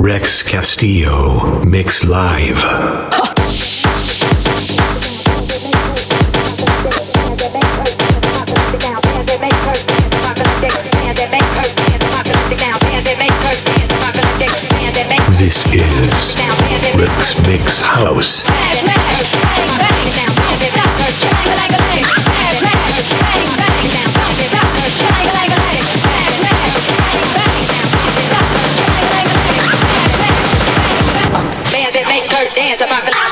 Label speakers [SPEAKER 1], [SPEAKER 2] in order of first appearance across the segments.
[SPEAKER 1] Rex Castillo Mix Live. This is Rex Mix House.
[SPEAKER 2] Dance about the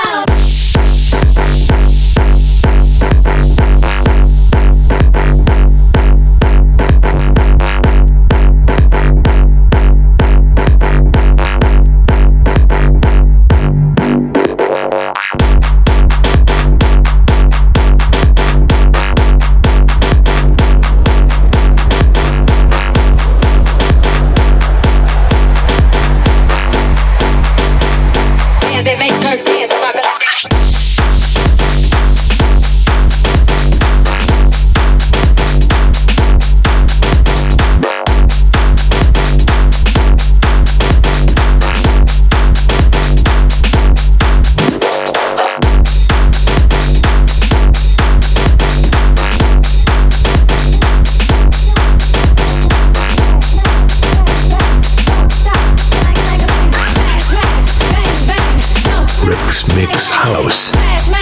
[SPEAKER 1] Mix House.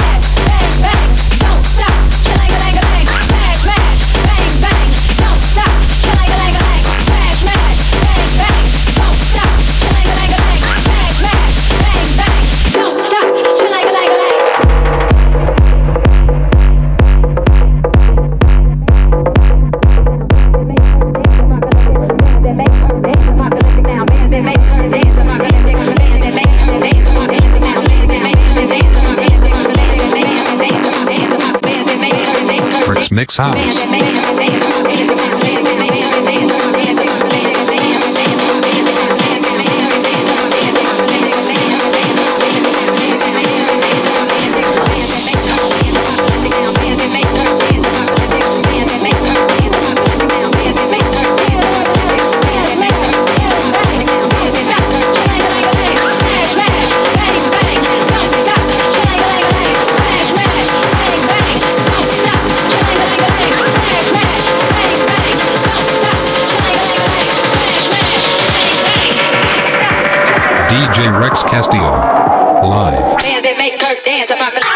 [SPEAKER 3] Mix House. DJ Rex Castillo, live.
[SPEAKER 2] And they make her dance about the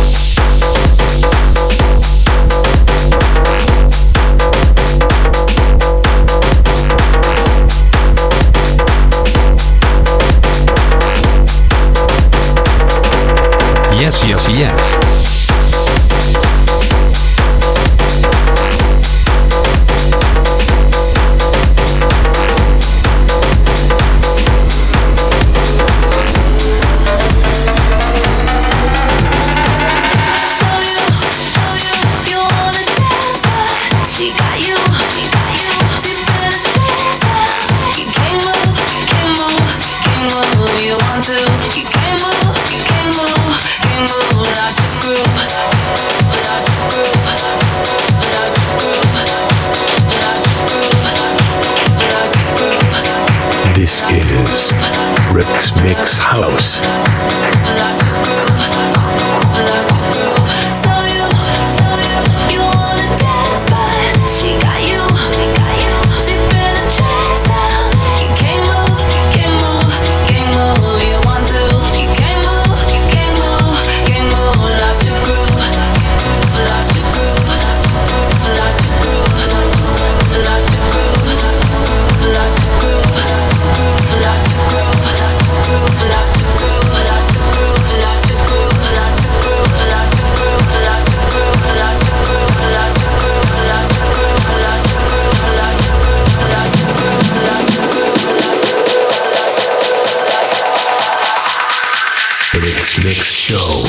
[SPEAKER 3] Yes, yes, yes.
[SPEAKER 1] This is Rex Mix House. Mix Show.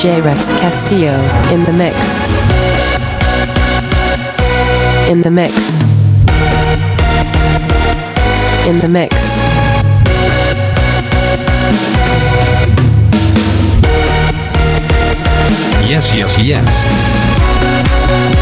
[SPEAKER 4] DJ Rex Castillo in the mix. In the mix. In the mix.
[SPEAKER 3] Yes, yes, yes.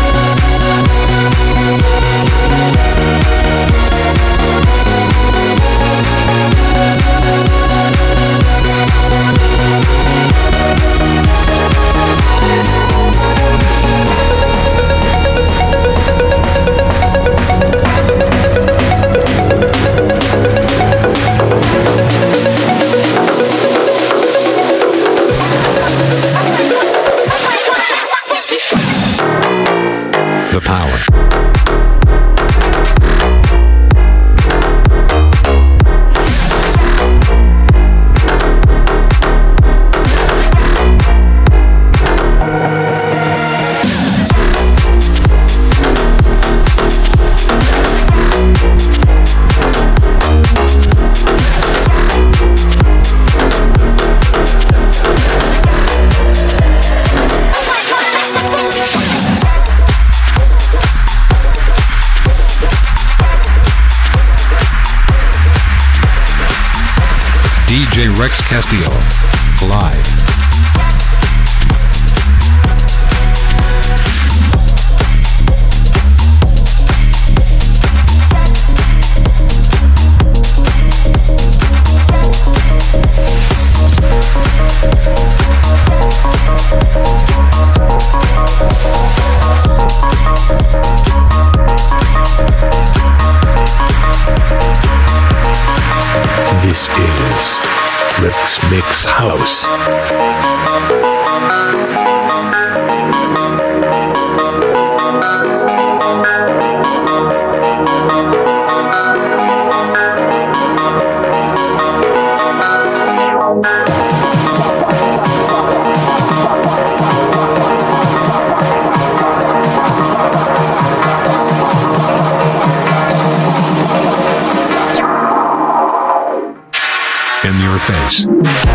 [SPEAKER 3] The power. DJ Rex Castillo. Live.
[SPEAKER 1] This is Rex Mix House.
[SPEAKER 3] In your face.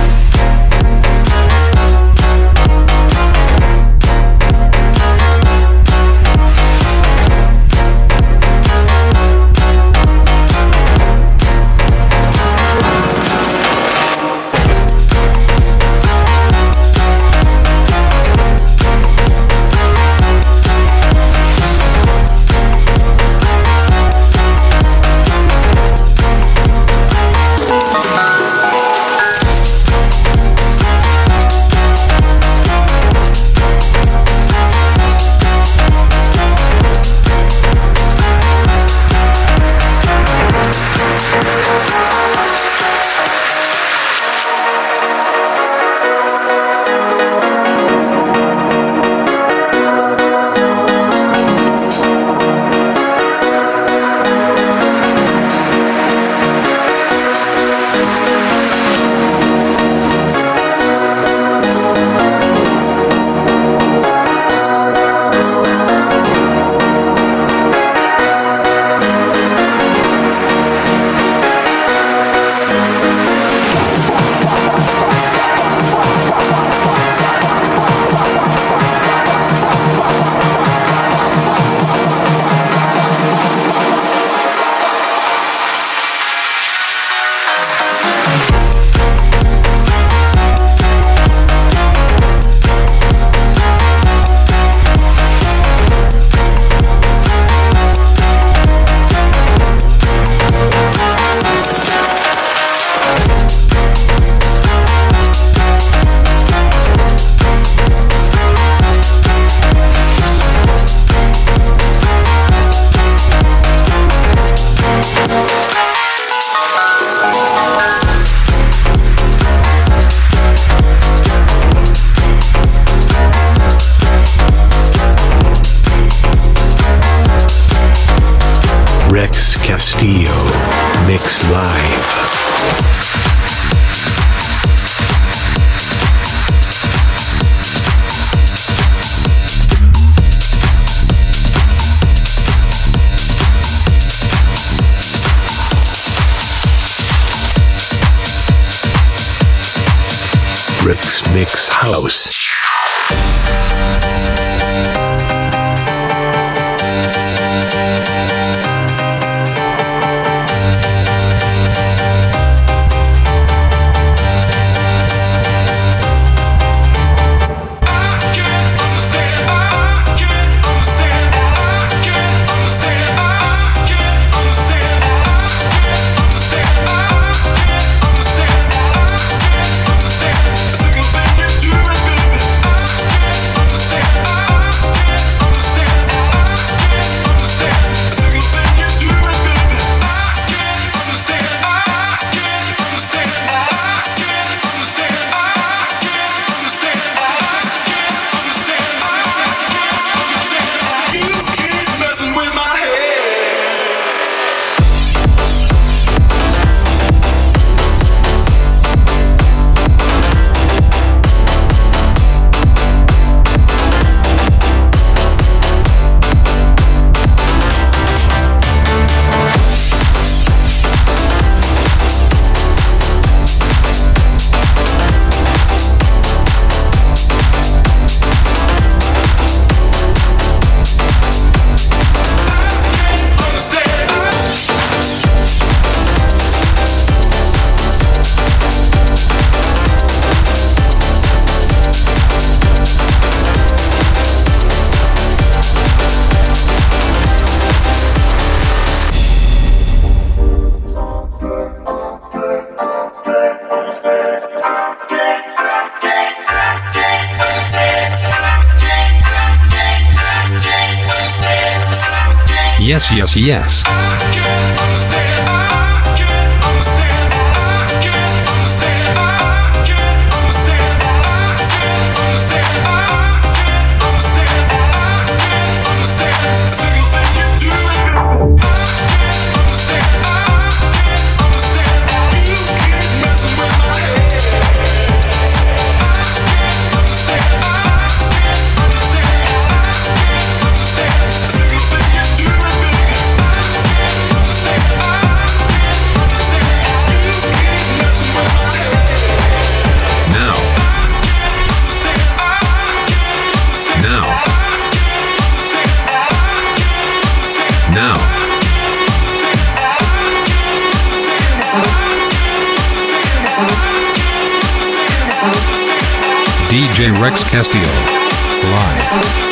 [SPEAKER 3] Rex Castillo Mix Live. Rex Mix House. Yes, yes, yes. DJ Rex Castillo, live.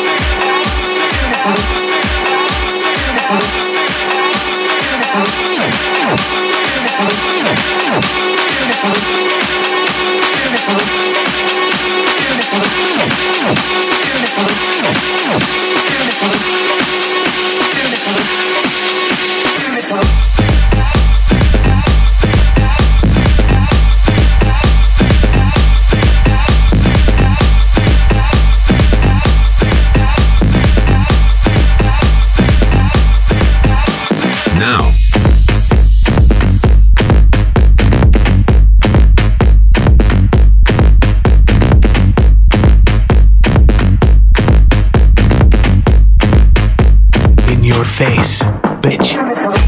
[SPEAKER 3] Now.
[SPEAKER 1] In your face, bitch.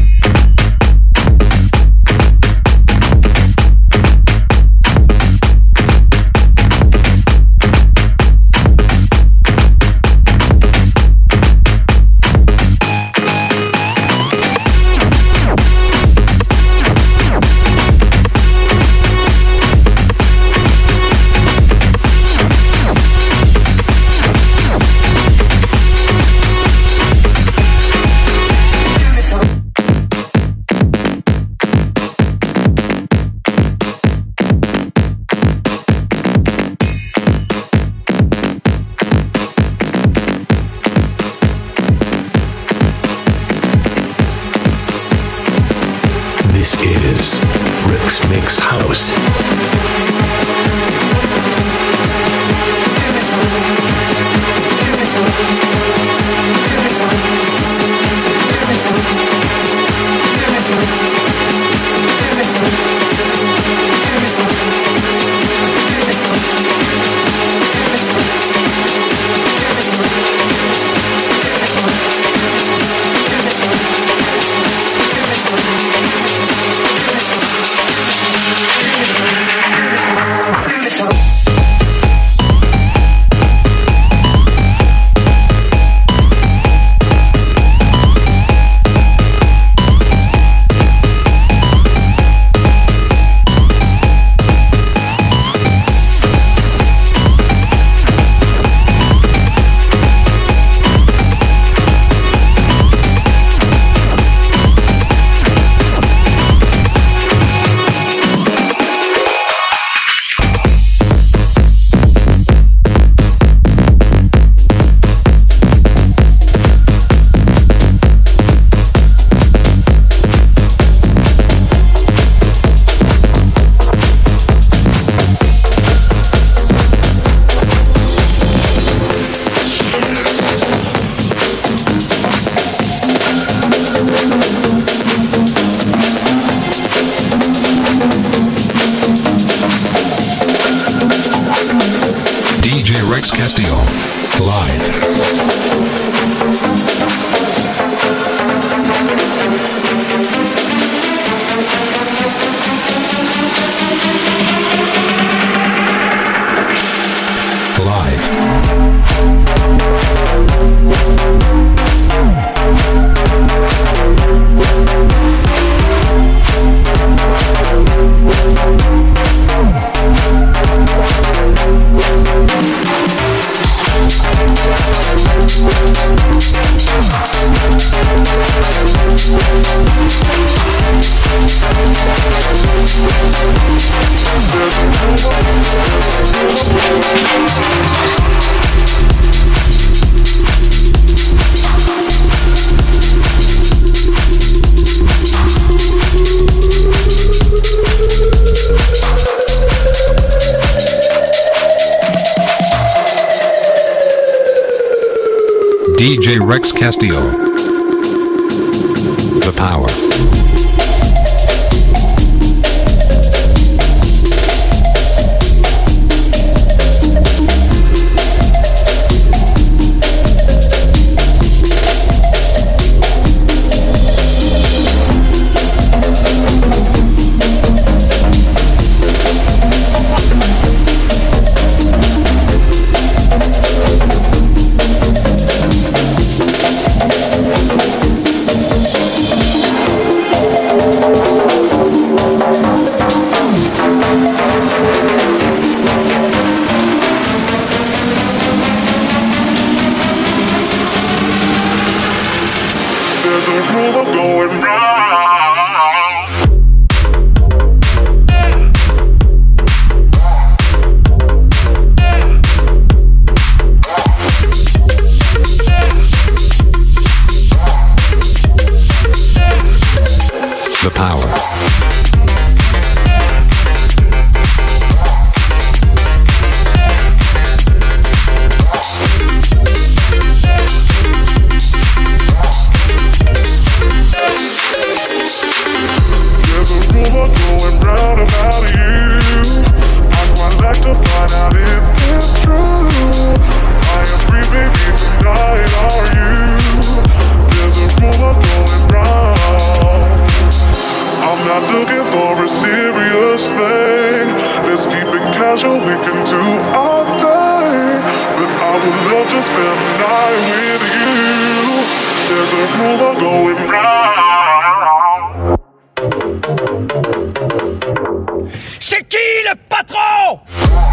[SPEAKER 1] This is Rick's Mix House.
[SPEAKER 3] DJ Rex Castillo. The power. The power.
[SPEAKER 5] C'est qui le patron?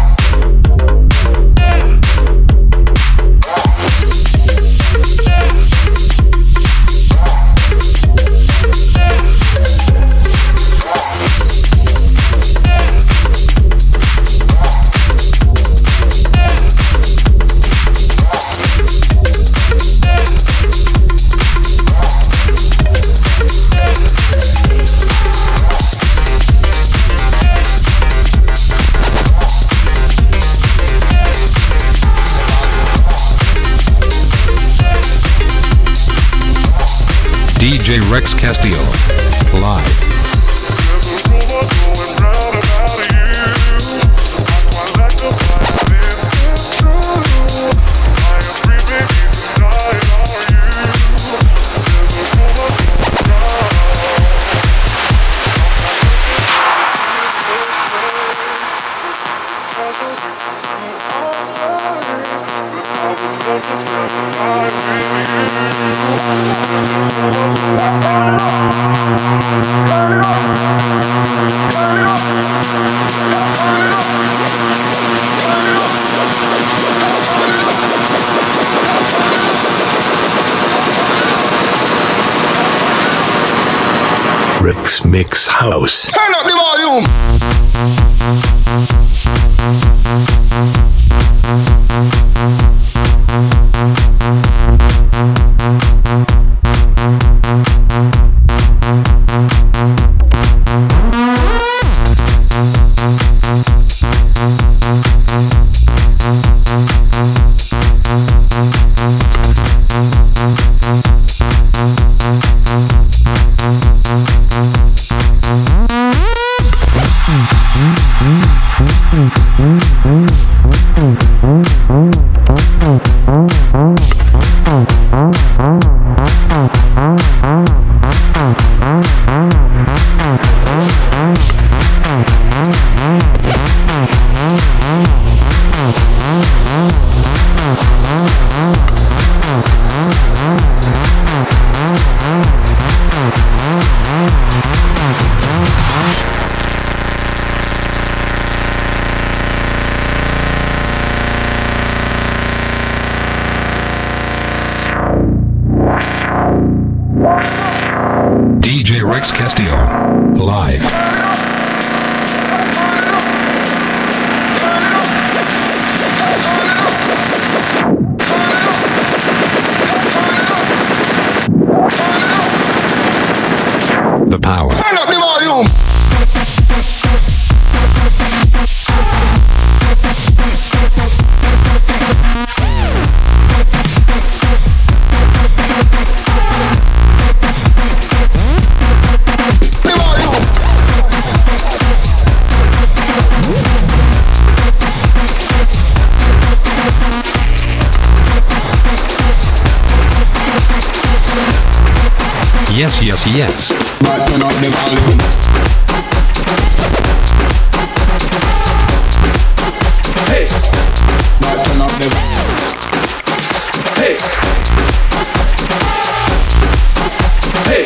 [SPEAKER 3] DJ Rex Castillo. Live.
[SPEAKER 1] Rick's Mix House.
[SPEAKER 6] Turn up the volume. DJ Rex Castillo. Live. The power. Turn up the volume.
[SPEAKER 3] Yes, yes, yes.
[SPEAKER 6] But turn up the volume.
[SPEAKER 5] Hey,
[SPEAKER 6] But turn up the
[SPEAKER 5] hey, hey.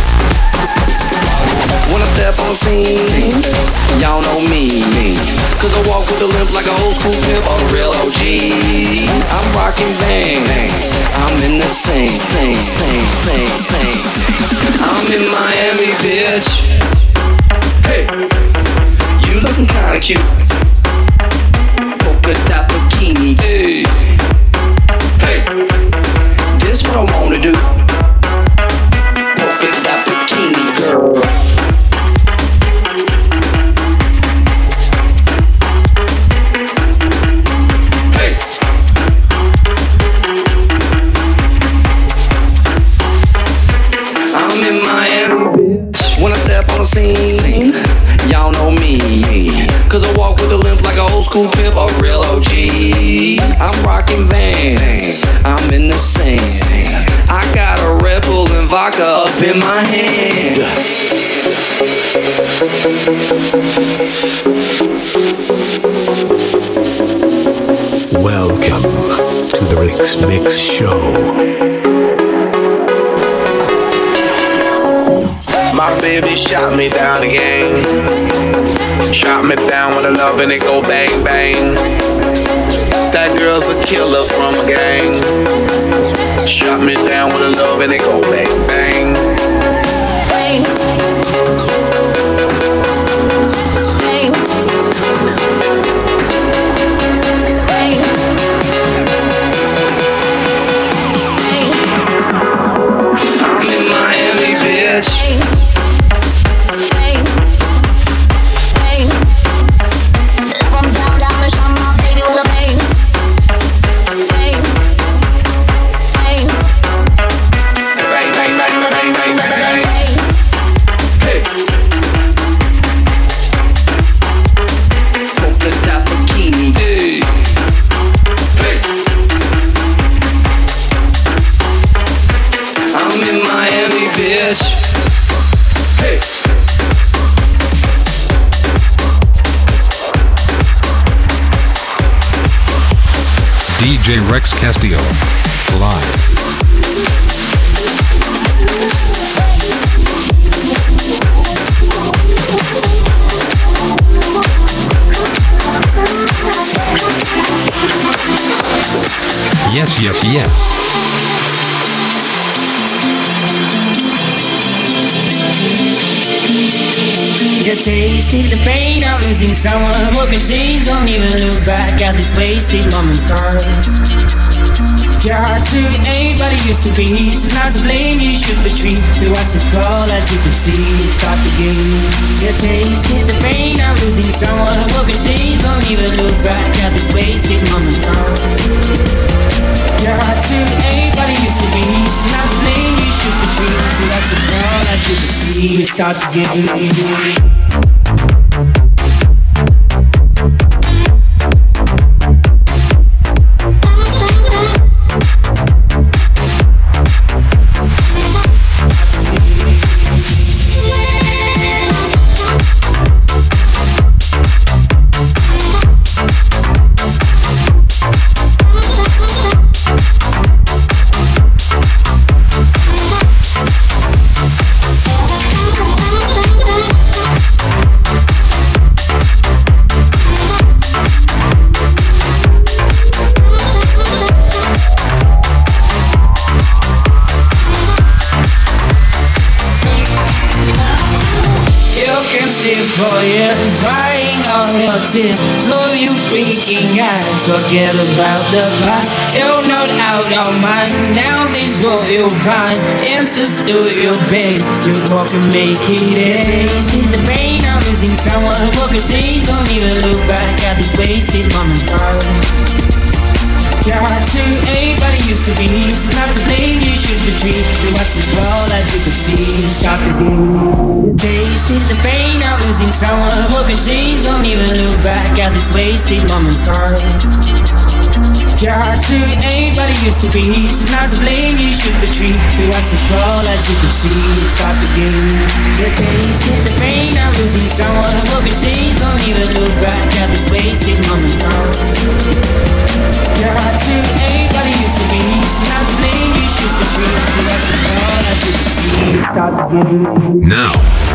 [SPEAKER 7] When I step on scene, y'all know me. Cause I walk with a limp like an old school pimp or a real OG. I'm rocking bands, I'm in the same. I'm in Miami, bitch.
[SPEAKER 5] Hey,
[SPEAKER 7] You looking kinda cute. Polka dot bikini, hey.
[SPEAKER 5] hey,
[SPEAKER 7] This what I wanna do. Polka dot bikini, girl.
[SPEAKER 5] hey.
[SPEAKER 7] I'm in Miami, bitch. When I step on the scene, y'all know me. Cause I walk with a limp like an old school pimp or a real OG. I'm rocking Vans, I'm in the same. I got a Red Bull and vodka up in my hand.
[SPEAKER 1] Welcome to the Rick's Mix Show.
[SPEAKER 8] My baby shot me down again. Shot me down with a love and it go bang bang. That girl's a killer from a gang. Shot me down with a love and it go bang bang.
[SPEAKER 7] I'm in Miami, bitch.
[SPEAKER 8] Bang bang bang bang bang bang bang.
[SPEAKER 5] Hey,
[SPEAKER 7] Polka dot bikini, hey.
[SPEAKER 5] hey,
[SPEAKER 7] I'm in Miami, bitch.
[SPEAKER 5] hey.
[SPEAKER 3] DJ Rex Castillo. Live. Yes, yes, yes.
[SPEAKER 9] You tasted the pain of losing someone. Walking trees, don't even look back at this wasted moment's scar. Your heart to anybody used to be, so not to blame, you should retreat. We watch it fall as you can see, start the game. You tasted the pain of losing someone. Walking trees, don't even look back at this wasted moment's scar. Your heart to anybody used to be, so not to blame, you should retreat. We watch it fall as you can see, start the game. For years, crying all your tears. Love you freaking eyes. Forget about the past. You're not out of mind. Now this what you'll find. Answers to your pain. You walk and make it end. Tasted the pain of losing someone. Walk a change. Don't even look back at this wasted moment's heart. Your heart to anybody used to be, so not to blame, you should retreat. You watch it fall as you can see. Stop the game. You tasted the pain of losing losing someone, broken chains. Don't even look back at this wasted moment's car. If your heart to ain't what it used to be, she's not to blame, you should retreat. You watch it fall as you can see, stop the game. You tasted the pain of losing someone, broken chains. Don't even look back at this wasted moment's car. If your heart to ain't what it used to be, she's not to blame, you should retreat. You watch it fall as you can see, stop the game.
[SPEAKER 3] Now.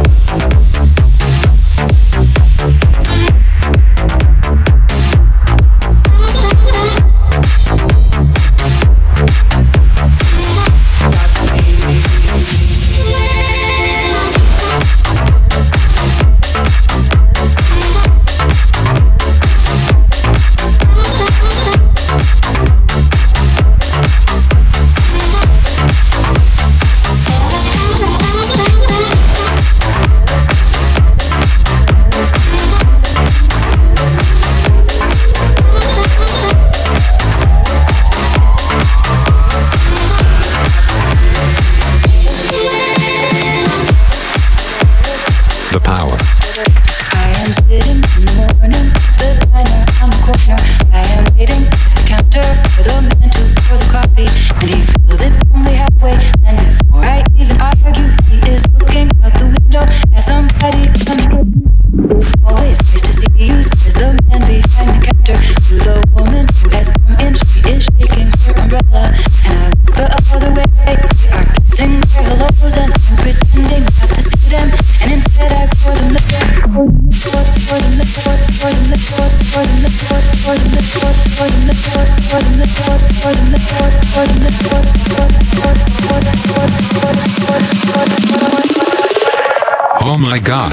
[SPEAKER 3] The power.
[SPEAKER 10] I am sitting in the morning, the diner on the corner. I am waiting at the counter for the man to pour the coffee, and he fills it only halfway. And before I even argue, he is looking out the window at somebody coming. It's always nice to see you, says the man behind the counter to the woman who has come in. She is shaking her umbrella, and I look the other way. They are kissing their hellos, and I'm pretending not to see them. And instead I pour them the
[SPEAKER 3] Oh my God.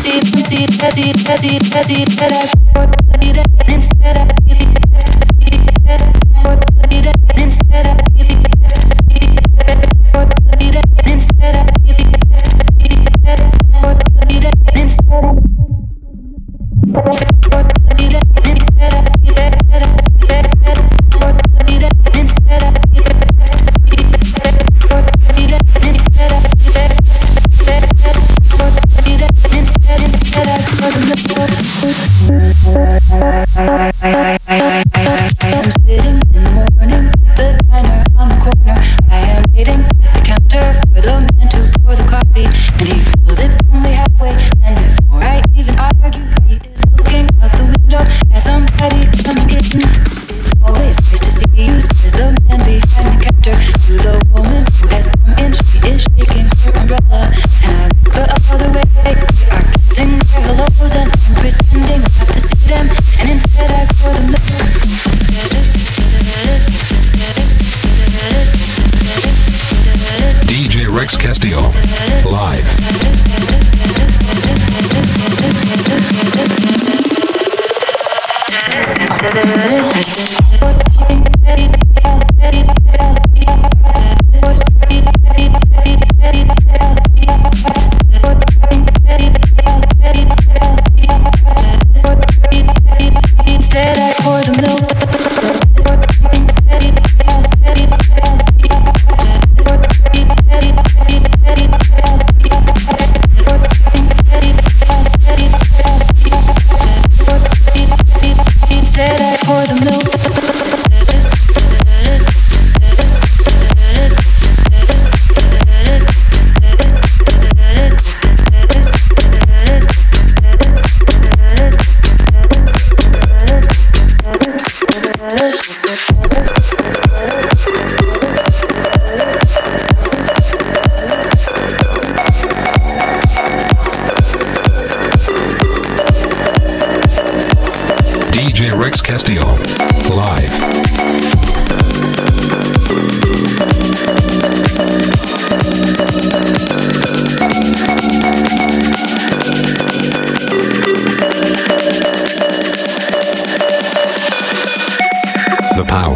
[SPEAKER 3] DJ Rex Castillo, live.
[SPEAKER 10] Instead I pour the milk. Instead I pour the milk.
[SPEAKER 3] DJ Rex Castillo, live. The power.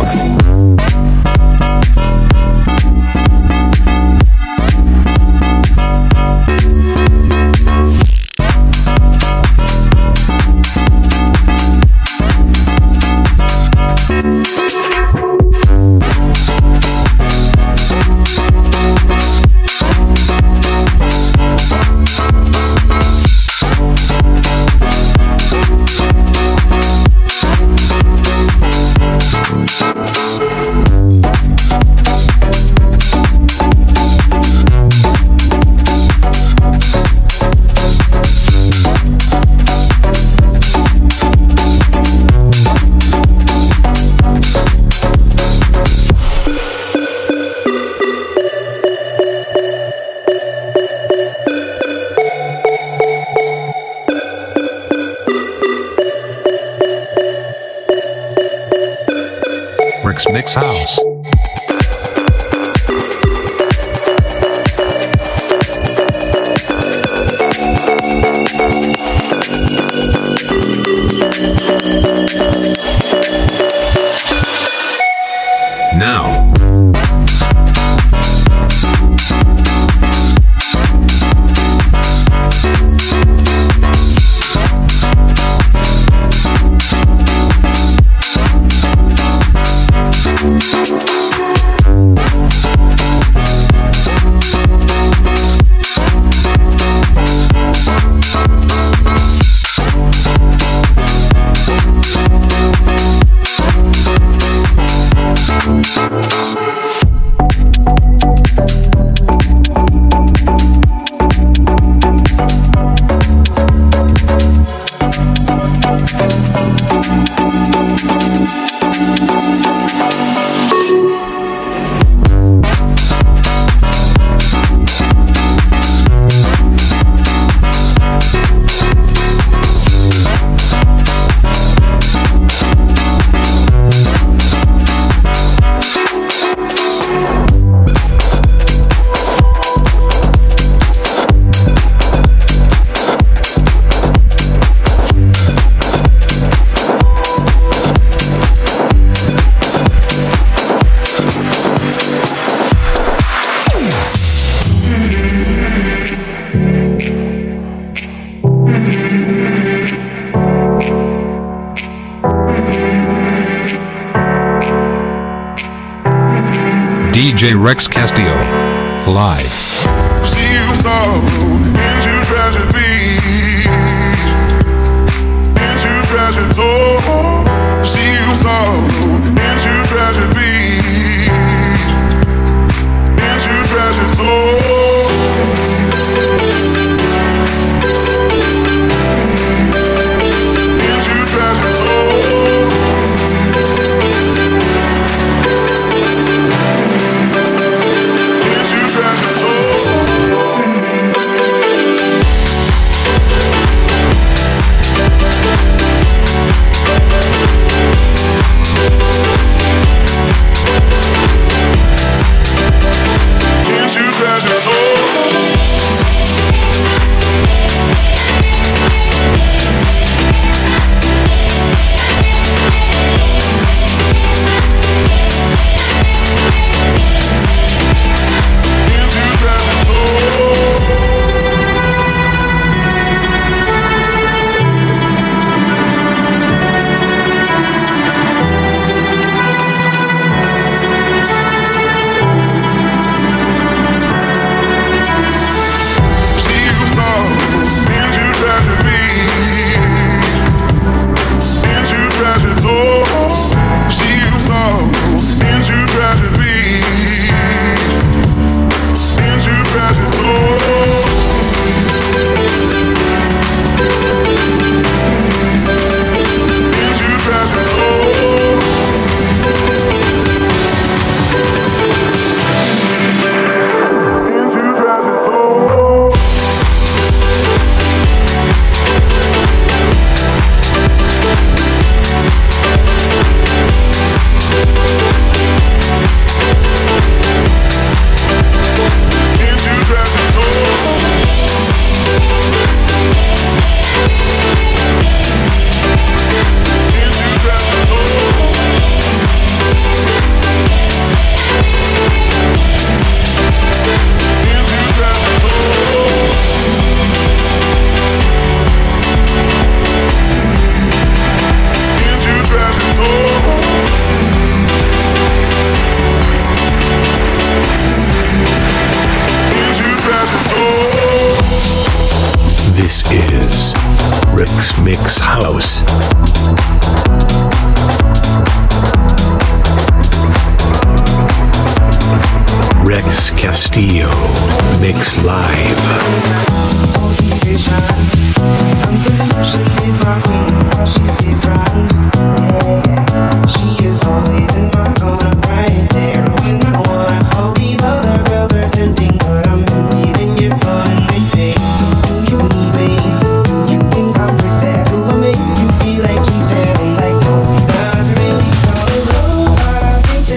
[SPEAKER 3] Mix House. Now. DJ Rex Castillo, live.
[SPEAKER 11] She was sorrow into tragedy, into tragic toll. She was sorrow into tragedy, into tragic toll. Into tragic toll.
[SPEAKER 1] Mix House. Rex Castillo Mix Live.
[SPEAKER 12] Think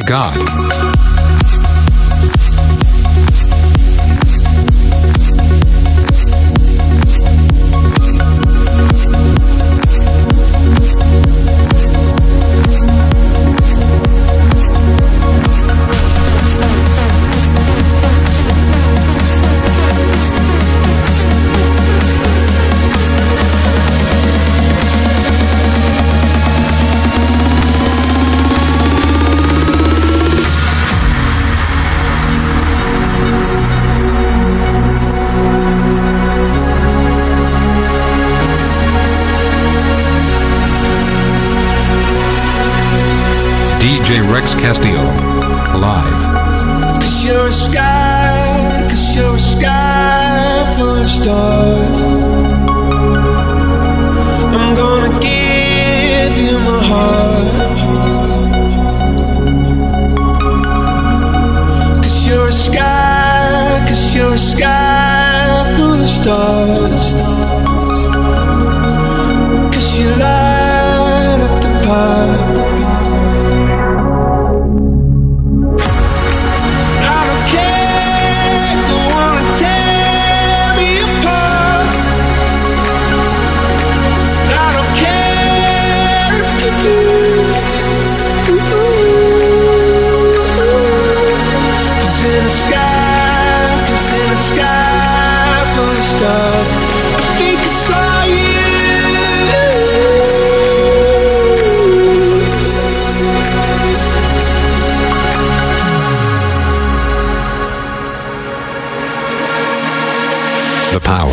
[SPEAKER 3] God. DJ Rex Castillo, live.
[SPEAKER 12] 'Cause you're a sky, 'cause you're a sky full of stars. I'm gonna give you my heart. 'Cause you're a sky, 'cause you're a sky full of stars. 'Cause you light up the path.
[SPEAKER 3] The power.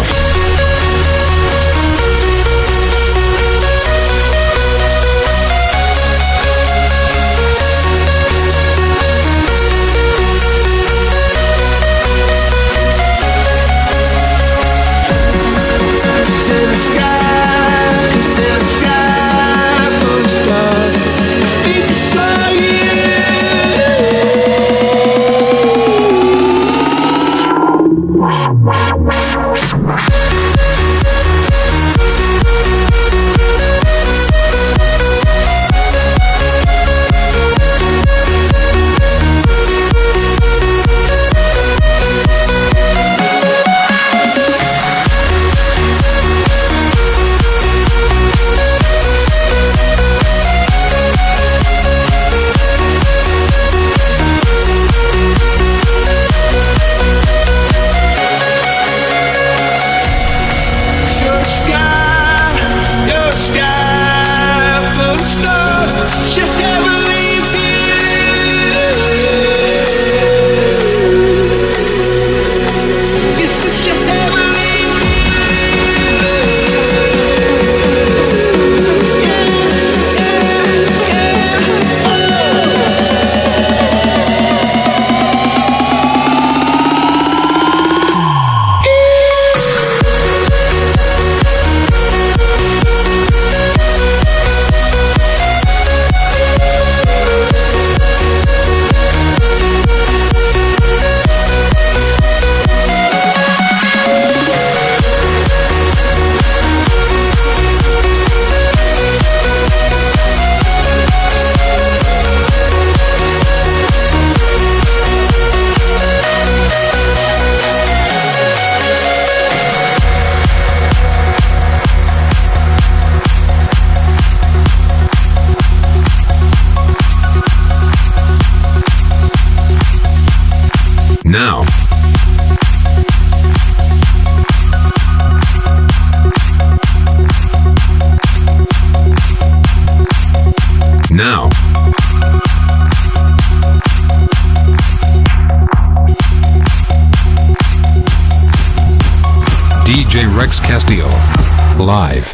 [SPEAKER 3] Now. Now. DJ Rex Castillo, live.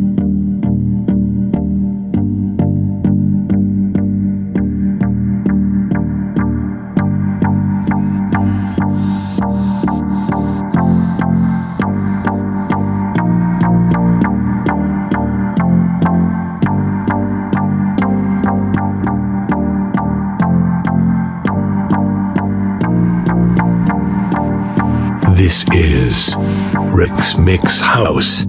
[SPEAKER 1] This is Rex Mix House.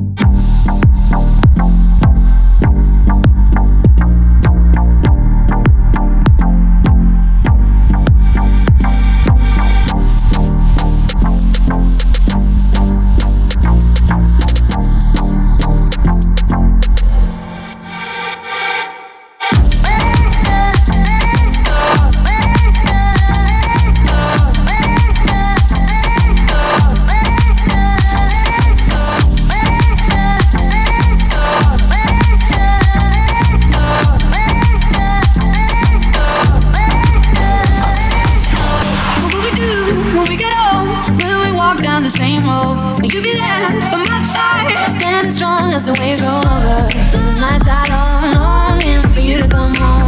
[SPEAKER 10] as the waves roll over, and the nights are long, longing for you to come home.